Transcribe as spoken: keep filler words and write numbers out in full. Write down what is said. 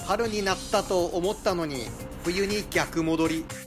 春になったと思ったのに冬に逆戻り。